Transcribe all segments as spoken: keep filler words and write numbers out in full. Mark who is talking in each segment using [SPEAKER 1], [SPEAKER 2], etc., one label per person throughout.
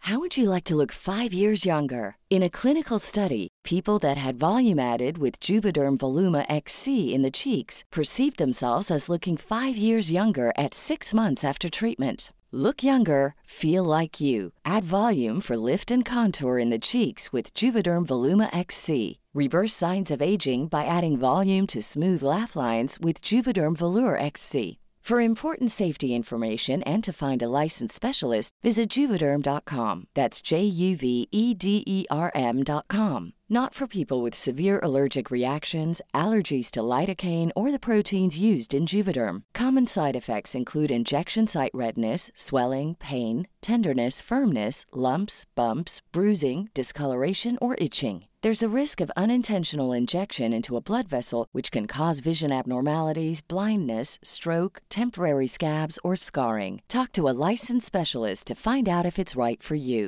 [SPEAKER 1] How would you like to look five years younger? In a clinical study, people that had volume added with Juvederm Voluma X C in the cheeks perceived themselves as looking five years younger at six months after treatment. Look younger, feel like you. Add volume for lift and contour in the cheeks with Juvederm Voluma X C. Reverse signs of aging by adding volume to smooth laugh lines with Juvederm Volure X C. For important safety information and to find a licensed specialist, visit Juvederm dot com. That's J U V E D E R M dot com. Not for people with severe allergic reactions, allergies to lidocaine, or the proteins used in Juvederm. Common side effects include injection site redness, swelling, pain, tenderness, firmness, lumps, bumps, bruising, discoloration, or itching. There's a risk of unintentional injection into a blood vessel, which can cause vision abnormalities, blindness, stroke, temporary scabs, or scarring. Talk to a licensed specialist to find out if it's right for you.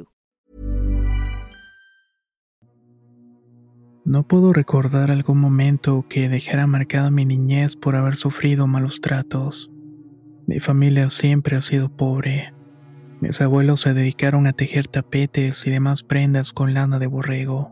[SPEAKER 2] No puedo recordar algún momento que dejara marcada mi niñez por haber sufrido malos tratos. Mi familia siempre ha sido pobre. Mis abuelos se dedicaron a tejer tapetes y demás prendas con lana de borrego.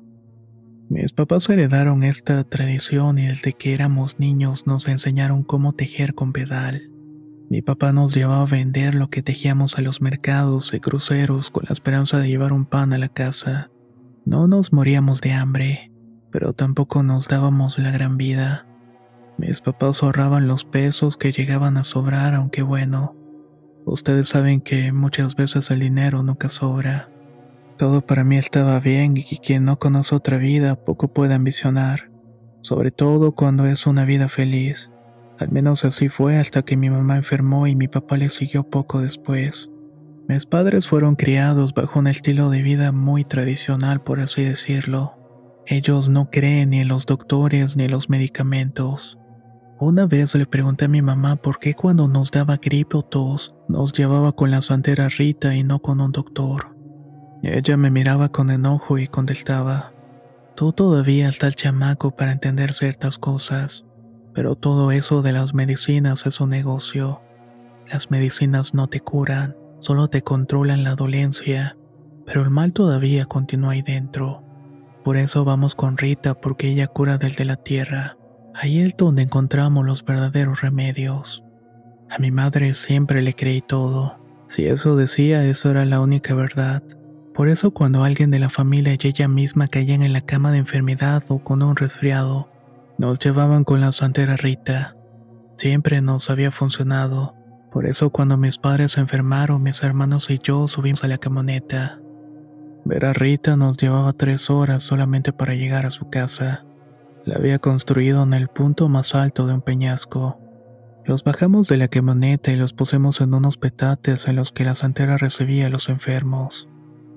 [SPEAKER 2] Mis papás heredaron esta tradición y desde que éramos niños nos enseñaron cómo tejer con pedal. Mi papá nos llevaba a vender lo que tejíamos a los mercados y cruceros con la esperanza de llevar un pan a la casa. No nos moríamos de hambre, pero tampoco nos dábamos la gran vida. Mis papás ahorraban los pesos que llegaban a sobrar, aunque bueno, ustedes saben que muchas veces el dinero nunca sobra. Todo para mí estaba bien y quien no conoce otra vida poco puede ambicionar, sobre todo cuando es una vida feliz. Al menos así fue hasta que mi mamá enfermó y mi papá le siguió poco después. Mis padres fueron criados bajo un estilo de vida muy tradicional, por así decirlo. Ellos no creen ni en los doctores ni en los medicamentos. Una vez le pregunté a mi mamá por qué cuando nos daba gripe o tos nos llevaba con la santera Rita y no con un doctor. Ella me miraba con enojo y contestaba: tú todavía estás chamaco para entender ciertas cosas, pero todo eso de las medicinas es un negocio. Las medicinas no te curan, solo te controlan la dolencia, pero el mal todavía continúa ahí dentro. Por eso vamos con Rita, porque ella cura desde la tierra. Ahí es donde encontramos los verdaderos remedios. A mi madre siempre le creí todo. Si eso decía, eso era la única verdad. Por eso cuando alguien de la familia y ella misma caían en la cama de enfermedad o con un resfriado, nos llevaban con la santera Rita. Siempre nos había funcionado. Por eso cuando mis padres se enfermaron, mis hermanos y yo subimos a la camioneta. Ver a Rita nos llevaba tres horas solamente para llegar a su casa. La había construido en el punto más alto de un peñasco. Los bajamos de la camioneta y los pusimos en unos petates en los que la santera recibía a los enfermos.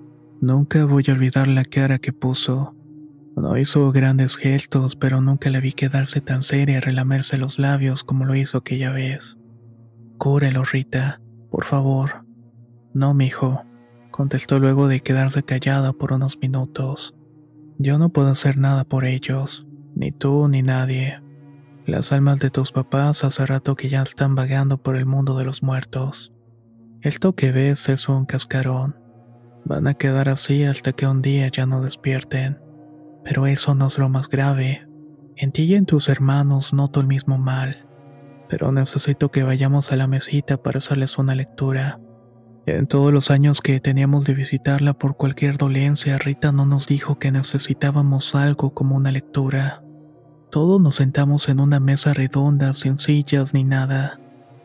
[SPEAKER 2] Nunca voy a olvidar la cara que puso. No hizo grandes gestos, pero nunca la vi quedarse tan seria y relamerse los labios como lo hizo aquella vez. Cúrelo, Rita, por favor. No, mijo, contestó luego de quedarse callada por unos minutos. Yo no puedo hacer nada por ellos, ni tú ni nadie. Las almas de tus papás hace rato que ya están vagando por el mundo de los muertos. Esto que ves es un cascarón. Van a quedar así hasta que un día ya no despierten. Pero eso no es lo más grave. En ti y en tus hermanos noto el mismo mal. Pero necesito que vayamos a la mesita para hacerles una lectura. En todos los años que teníamos de visitarla por cualquier dolencia, Rita no nos dijo que necesitábamos algo como una lectura. Todos nos sentamos en una mesa redonda, sin sillas ni nada.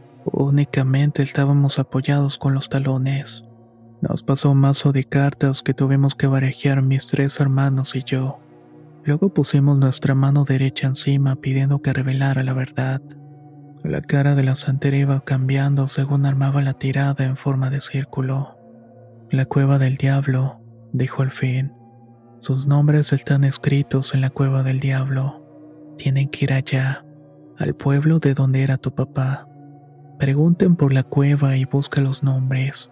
[SPEAKER 2] Únicamente estábamos apoyados con los talones. Nos pasó un mazo de cartas que tuvimos que barajear mis tres hermanos y yo. Luego pusimos nuestra mano derecha encima pidiendo que revelara la verdad. La cara de la santera iba cambiando según armaba la tirada en forma de círculo. La cueva del diablo, dijo al fin. Sus nombres están escritos en la cueva del diablo. Tienen que ir allá, al pueblo de donde era tu papá. Pregunten por la cueva y busquen los nombres.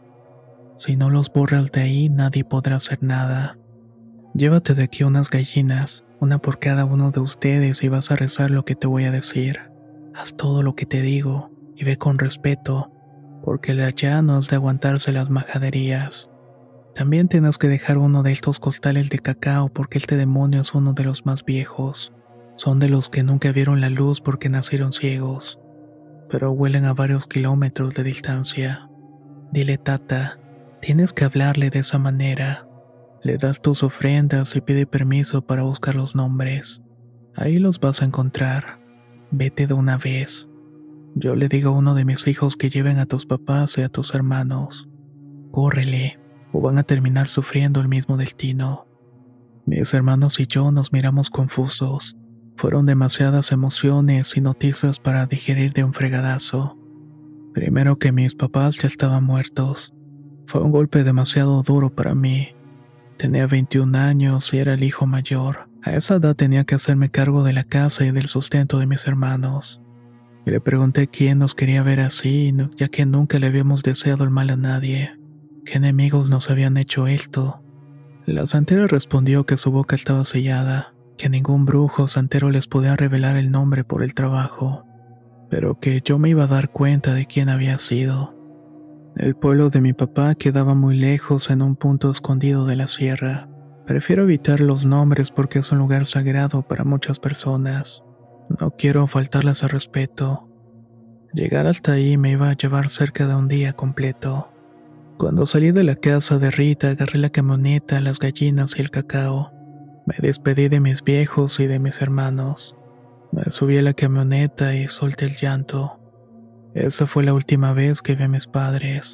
[SPEAKER 2] Si no los borras de ahí, nadie podrá hacer nada. Llévate de aquí unas gallinas, una por cada uno de ustedes, y vas a rezar lo que te voy a decir. Haz todo lo que te digo, y ve con respeto, porque el de allá no es de aguantarse las majaderías. También tienes que dejar uno de estos costales de cacao porque este demonio es uno de los más viejos. Son de los que nunca vieron la luz porque nacieron ciegos, pero huelen a varios kilómetros de distancia. Dile, Tata, tienes que hablarle de esa manera. Le das tus ofrendas y pide permiso para buscar los nombres. Ahí los vas a encontrar. Vete de una vez. Yo le digo a uno de mis hijos que lleven a tus papás y a tus hermanos. Córrele, o van a terminar sufriendo el mismo destino. Mis hermanos y yo nos miramos confusos. Fueron demasiadas emociones y noticias para digerir de un fregadazo. Primero que mis papás ya estaban muertos. Fue un golpe demasiado duro para mí. Tenía veintiún años y era el hijo mayor. A esa edad tenía que hacerme cargo de la casa y del sustento de mis hermanos. Y le pregunté quién nos quería ver así, ya que nunca le habíamos deseado el mal a nadie. ¿Qué enemigos nos habían hecho esto? La santera respondió que su boca estaba sellada, que ningún brujo o santero les podía revelar el nombre por el trabajo, pero que yo me iba a dar cuenta de quién había sido. El pueblo de mi papá quedaba muy lejos en un punto escondido de la sierra. Prefiero evitar los nombres porque es un lugar sagrado para muchas personas. No quiero faltarles al respeto. Llegar hasta ahí me iba a llevar cerca de un día completo. Cuando salí de la casa de Rita, agarré la camioneta, las gallinas y el cacao. Me despedí de mis viejos y de mis hermanos. Me subí a la camioneta y solté el llanto. Esa fue la última vez que vi a mis padres.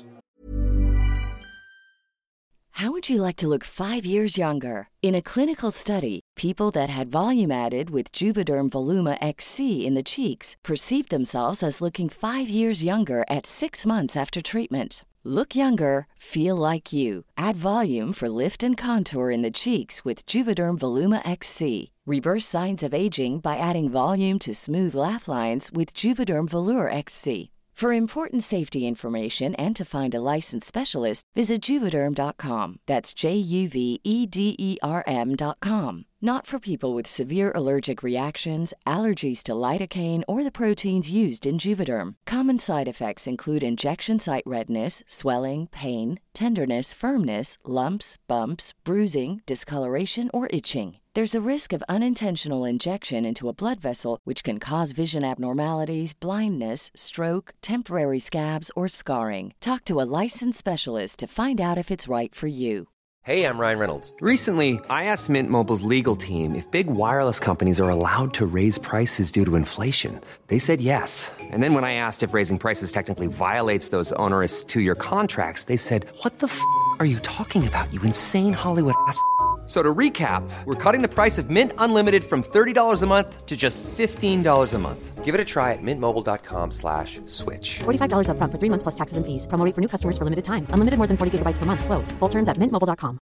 [SPEAKER 1] How would you like to look five years younger? In a clinical study, people that had volume added with Juvederm Voluma X C in the cheeks perceived themselves as looking five years younger at six months after treatment. Look younger, feel like you. Add volume for lift and contour in the cheeks with Juvederm Voluma X C. Reverse signs of aging by adding volume to smooth laugh lines with Juvederm Volure X C. For important safety information and to find a licensed specialist, visit Juvederm dot com. That's J U V E D E R M dot com. Not for people with severe allergic reactions, allergies to lidocaine, or the proteins used in Juvederm. Common side effects include injection site redness, swelling, pain, tenderness, firmness, lumps, bumps, bruising, discoloration, or itching. There's a risk of unintentional injection into a blood vessel, which can cause vision abnormalities, blindness, stroke, temporary scabs, or scarring. Talk to a licensed specialist to find out if it's right for you.
[SPEAKER 3] Hey, I'm Ryan Reynolds. Recently, I asked Mint Mobile's legal team if big wireless companies are allowed to raise prices due to inflation. They said yes. And then when I asked if raising prices technically violates those onerous two-year contracts, they said, "What the f*** are you talking about, you insane Hollywood ass?" So to recap, we're cutting the price of Mint Unlimited from thirty dollars a month to just fifteen dollars a month. Give it a try at mintmobile.com slash switch.
[SPEAKER 4] forty-five dollars up front for three months plus taxes and fees. Promo rate for new customers for limited time. Unlimited more than forty gigabytes per month. Slows full terms at mint mobile dot com.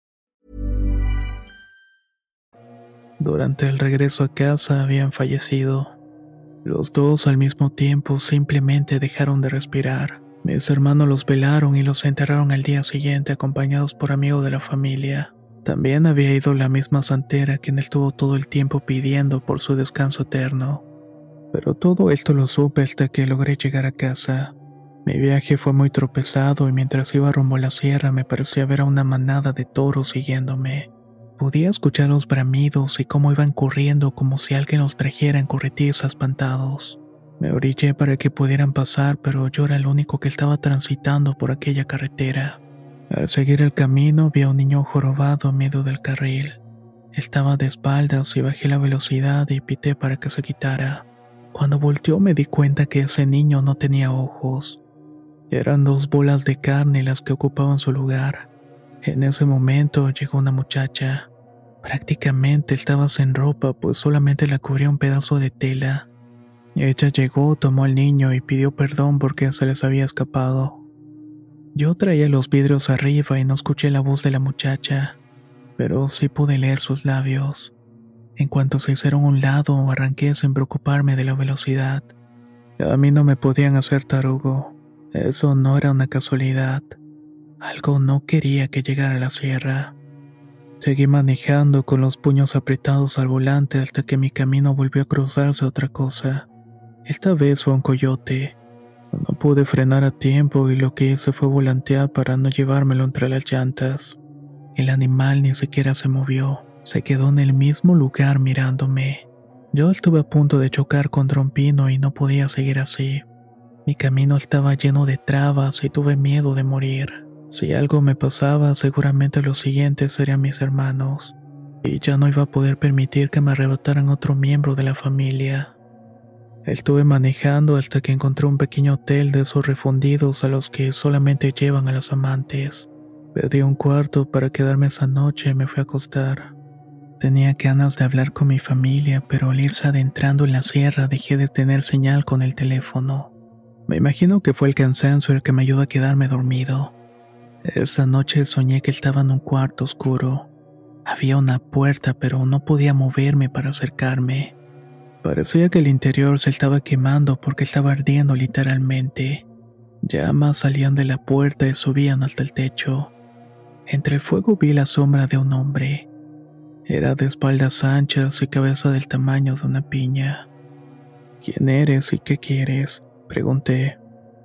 [SPEAKER 2] Durante el regreso a casa habían fallecido. Los dos al mismo tiempo simplemente dejaron de respirar. Mis hermanos los velaron y los enterraron al día siguiente acompañados por amigos de la familia. También había ido la misma santera quien estuvo todo el tiempo pidiendo por su descanso eterno. Pero todo esto lo supe hasta que logré llegar a casa. Mi viaje fue muy tropezado y mientras iba rumbo a la sierra me parecía ver a una manada de toros siguiéndome. Podía escuchar los bramidos y cómo iban corriendo como si alguien los trajera en corretiza espantados. Me orillé para que pudieran pasar, pero yo era el único que estaba transitando por aquella carretera. Al seguir el camino vi a un niño jorobado en medio del carril. Estaba de espaldas y bajé la velocidad y pité para que se quitara. Cuando volteó me di cuenta que ese niño no tenía ojos. Eran dos bolas de carne las que ocupaban su lugar. En ese momento llegó una muchacha. Prácticamente estaba sin ropa, pues solamente la cubría un pedazo de tela. Ella llegó, tomó al niño y pidió perdón porque se les había escapado. Yo traía los vidrios arriba y no escuché la voz de la muchacha, pero sí pude leer sus labios. En cuanto se hicieron a un lado, arranqué sin preocuparme de la velocidad. A mí no me podían hacer tarugo. Eso no era una casualidad. Algo no quería que llegara a la sierra. Seguí manejando con los puños apretados al volante hasta que mi camino volvió a cruzarse otra cosa. Esta vez fue un coyote. No pude frenar a tiempo y lo que hice fue volantear para no llevármelo entre las llantas. El animal ni siquiera se movió, se quedó en el mismo lugar mirándome. Yo estuve a punto de chocar contra un pino y no podía seguir así. Mi camino estaba lleno de trabas y tuve miedo de morir. Si algo me pasaba, seguramente los siguientes serían mis hermanos, y ya no iba a poder permitir que me arrebataran otro miembro de la familia. Estuve manejando hasta que encontré un pequeño hotel de esos refundidos a los que solamente llevan a los amantes. Pedí un cuarto para quedarme esa noche y me fui a acostar. Tenía ganas de hablar con mi familia, pero al irse adentrando en la sierra dejé de tener señal con el teléfono. Me imagino que fue el cansancio el que me ayudó a quedarme dormido. Esa noche soñé que estaba en un cuarto oscuro. Había una puerta, pero no podía moverme para acercarme. Parecía que el interior se estaba quemando porque estaba ardiendo literalmente. Llamas salían de la puerta y subían hasta el techo. Entre el fuego vi la sombra de un hombre. Era de espaldas anchas y cabeza del tamaño de una piña. ¿Quién eres y qué quieres?, pregunté.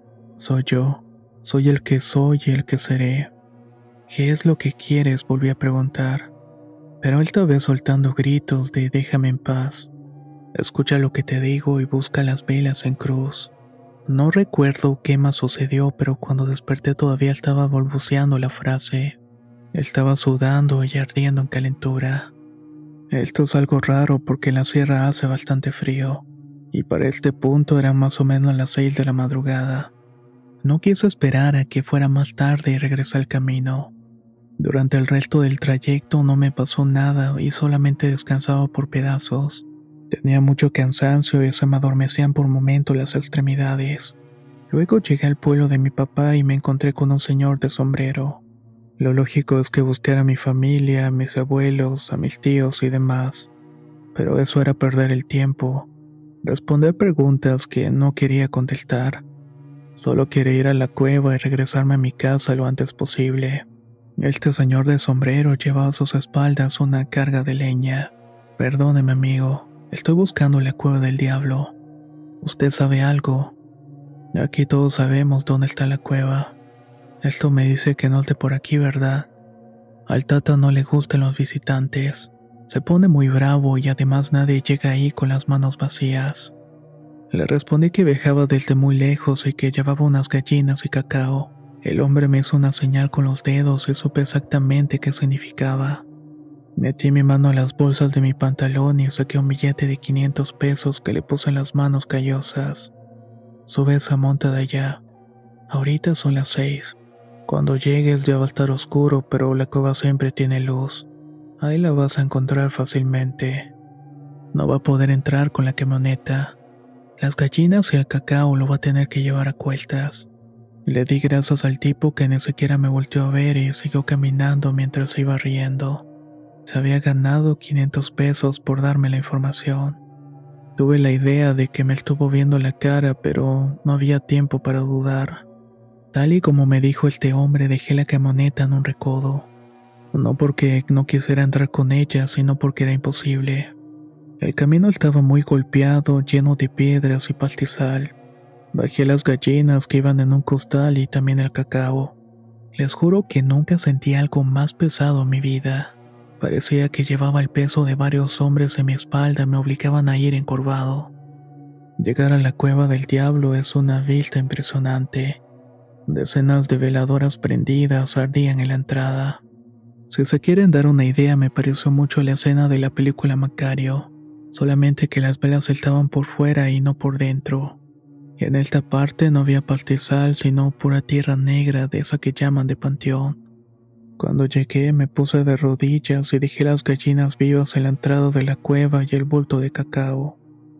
[SPEAKER 2] Soy yo. Soy el que soy y el que seré. ¿Qué es lo que quieres?, volví a preguntar. Pero esta vez soltando gritos de déjame en paz. Escucha lo que te digo y busca las velas en cruz. No recuerdo qué más sucedió, pero cuando desperté todavía estaba balbuceando la frase. Estaba sudando y ardiendo en calentura. Esto es algo raro porque en la sierra hace bastante frío, y para este punto eran más o menos las seis de la madrugada. No quise esperar a que fuera más tarde y regresé al camino. Durante el resto del trayecto no me pasó nada y solamente descansaba por pedazos. Tenía mucho cansancio y se me adormecían por momentos las extremidades. Luego llegué al pueblo de mi papá y me encontré con un señor de sombrero. Lo lógico es que buscara a mi familia, a mis abuelos, a mis tíos y demás. Pero eso era perder el tiempo. Responder preguntas que no quería contestar. Solo quería ir a la cueva y regresarme a mi casa lo antes posible. Este señor de sombrero llevaba a sus espaldas una carga de leña. Perdóneme, amigo. Estoy buscando la cueva del diablo. ¿Usted sabe algo? Aquí todos sabemos dónde está la cueva. Esto me dice que no esté por aquí, ¿verdad? Al Tata no le gustan los visitantes. Se pone muy bravo y además nadie llega ahí con las manos vacías. Le respondí que viajaba desde muy lejos y que llevaba unas gallinas y cacao. El hombre me hizo una señal con los dedos y supe exactamente qué significaba. Metí mi mano a las bolsas de mi pantalón y saqué un billete de quinientos pesos que le puse en las manos callosas. Sube esa monta de allá. Ahorita son las seis. Cuando llegues ya va a estar oscuro, pero la cueva siempre tiene luz. Ahí la vas a encontrar fácilmente. No va a poder entrar con la camioneta. Las gallinas y el cacao lo va a tener que llevar a cuestas. Le di gracias al tipo que ni siquiera me volteó a ver y siguió caminando mientras iba riendo. Se había ganado quinientos pesos por darme la información. Tuve la idea de que me estuvo viendo la cara, pero no había tiempo para dudar. Tal y como me dijo este hombre, dejé la camioneta en un recodo. No porque no quisiera entrar con ella, sino porque era imposible. El camino estaba muy golpeado, lleno de piedras y pastizal. Bajé las gallinas que iban en un costal y también el cacao. Les juro que nunca sentí algo más pesado en mi vida. Parecía que llevaba el peso de varios hombres en mi espalda y me obligaban a ir encorvado. Llegar a la cueva del diablo es una vista impresionante. Decenas de veladoras prendidas ardían en la entrada. Si se quieren dar una idea, me pareció mucho la escena de la película Macario, solamente que las velas estaban por fuera y no por dentro. En esta parte no había pastizal, sino pura tierra negra de esa que llaman de panteón. Cuando llegué me puse de rodillas y dejé las gallinas vivas en la entrada de la cueva y el bulto de cacao.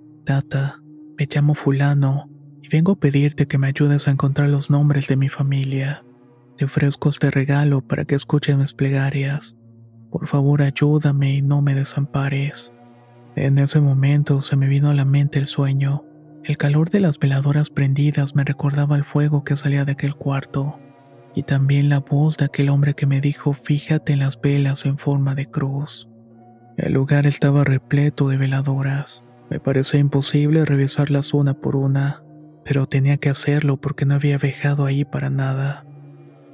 [SPEAKER 2] Tata, me llamo fulano y vengo a pedirte que me ayudes a encontrar los nombres de mi familia. Te ofrezco este regalo para que escuches mis plegarias. Por favor, ayúdame y no me desampares. En ese momento se me vino a la mente el sueño. El calor de las veladoras prendidas me recordaba el fuego que salía de aquel cuarto. Y también la voz de aquel hombre que me dijo fíjate en las velas en forma de cruz. El lugar estaba repleto de veladoras. Me parecía imposible revisarlas una por una, pero tenía que hacerlo porque no había viajado ahí para nada.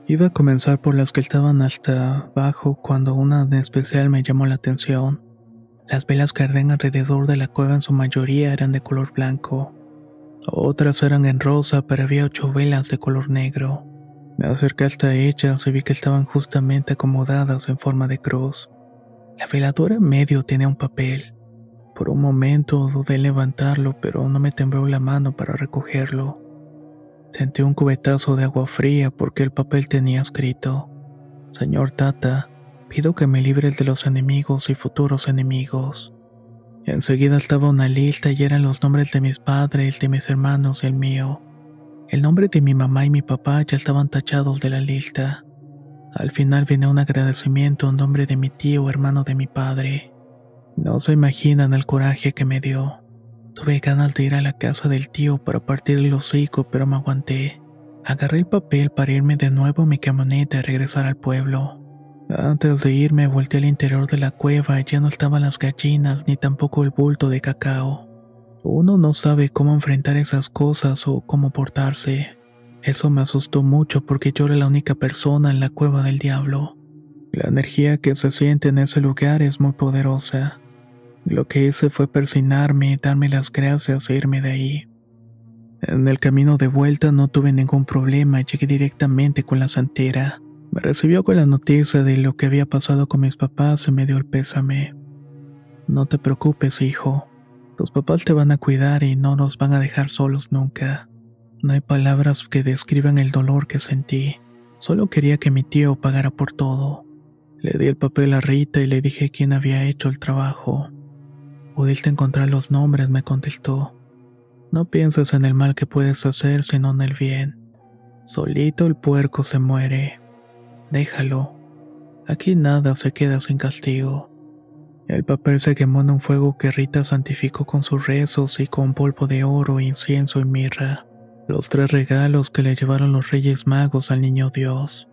[SPEAKER 2] Iba a comenzar por las que estaban hasta abajo cuando una en especial me llamó la atención. Las velas que ardían alrededor de la cueva en su mayoría eran de color blanco. Otras eran en rosa, pero había ocho velas de color negro. Me acerqué hasta ellas y vi que estaban justamente acomodadas en forma de cruz. La veladora en medio tenía un papel. Por un momento dudé en levantarlo, pero no me tembló la mano para recogerlo. Sentí un cubetazo de agua fría porque el papel tenía escrito: Señor Tata, pido que me libres de los enemigos y futuros enemigos. Enseguida estaba una lista y eran los nombres de mis padres, de mis hermanos y el mío. El nombre de mi mamá y mi papá ya estaban tachados de la lista. Al final venía un agradecimiento en nombre de mi tío, hermano de mi padre. No se imaginan el coraje que me dio. Tuve ganas de ir a la casa del tío para partir el hocico, pero me aguanté. Agarré el papel para irme de nuevo a mi camioneta y regresar al pueblo. Antes de irme volteé al interior de la cueva y ya no estaban las gallinas ni tampoco el bulto de cacao. Uno no sabe cómo enfrentar esas cosas o cómo portarse. Eso me asustó mucho porque yo era la única persona en la cueva del diablo. La energía que se siente en ese lugar es muy poderosa. Lo que hice fue persignarme, darme las gracias e irme de ahí. En el camino de vuelta no tuve ningún problema y llegué directamente con la santera. Me recibió con la noticia de lo que había pasado con mis papás y me dio el pésame. No te preocupes, hijo. Tus papás te van a cuidar y no nos van a dejar solos nunca. No hay palabras que describan el dolor que sentí. Solo quería que mi tío pagara por todo. Le di el papel a Rita y le dije quién había hecho el trabajo. ¿Pudiste encontrar los nombres?, me contestó. No pienses en el mal que puedes hacer, sino en el bien. Solito el puerco se muere. Déjalo. Aquí nada se queda sin castigo. El papel se quemó en un fuego que Rita santificó con sus rezos y con polvo de oro, incienso y mirra. Los tres regalos que le llevaron los Reyes Magos al Niño Dios.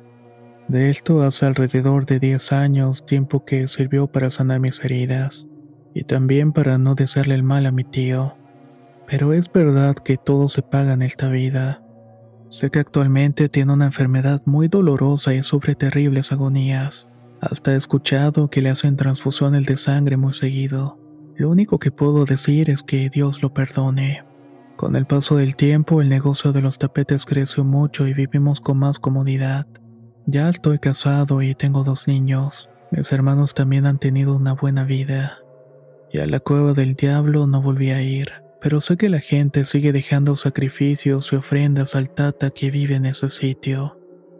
[SPEAKER 2] De esto hace alrededor de diez años, tiempo que sirvió para sanar mis heridas, y también para no desearle el mal a mi tío. Pero es verdad que todo se paga en esta vida. Sé que actualmente tiene una enfermedad muy dolorosa y sufre terribles agonías. Hasta he escuchado que le hacen transfusiones de sangre muy seguido. Lo único que puedo decir es que Dios lo perdone. Con el paso del tiempo, el negocio de los tapetes creció mucho y vivimos con más comodidad. Ya estoy casado y tengo dos niños. Mis hermanos también han tenido una buena vida. Y a la cueva del diablo no volví a ir. Pero sé que la gente sigue dejando sacrificios y ofrendas al Tata que vive en ese sitio.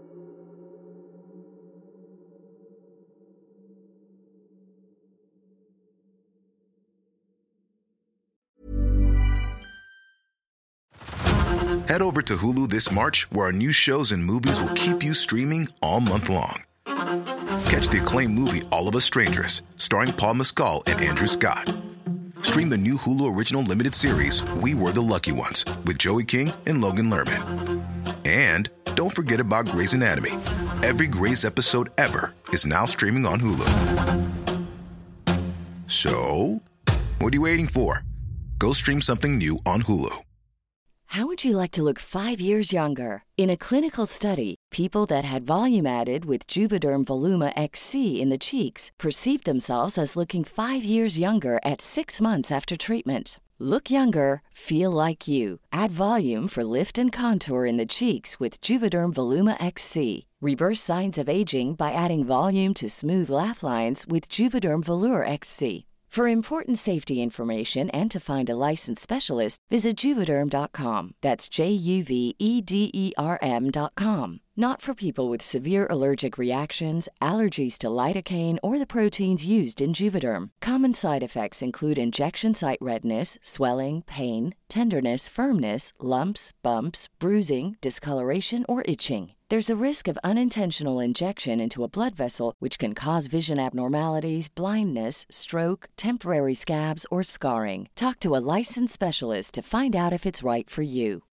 [SPEAKER 5] Head over to Hulu this March, where our new shows and movies will keep you streaming all month long. Catch the acclaimed movie All of Us Strangers, starring Paul Mescal and Andrew Scott. Stream the new Hulu original limited series We Were the Lucky Ones with Joey King and Logan Lerman. And don't forget about Grey's Anatomy. Every Grey's episode ever is now streaming on Hulu. So, what are you waiting for? Go stream something new on Hulu.
[SPEAKER 1] How would you like to look five years younger? In a clinical study, people that had volume added with Juvederm Voluma X C in the cheeks perceived themselves as looking five years younger at six months after treatment. Look younger, feel like you. Add volume for lift and contour in the cheeks with Juvederm Voluma X C. Reverse signs of aging by adding volume to smooth laugh lines with Juvederm Volure X C. For important safety information and to find a licensed specialist, visit Juvederm dot com. That's J U V E D E R M dot com. Not for people with severe allergic reactions, allergies to lidocaine, or the proteins used in Juvederm. Common side effects include injection site redness, swelling, pain, tenderness, firmness, lumps, bumps, bruising, discoloration, or itching. There's a risk of unintentional injection into a blood vessel, which can cause vision abnormalities, blindness, stroke, temporary scabs, or scarring. Talk to a licensed specialist to find out if it's right for you.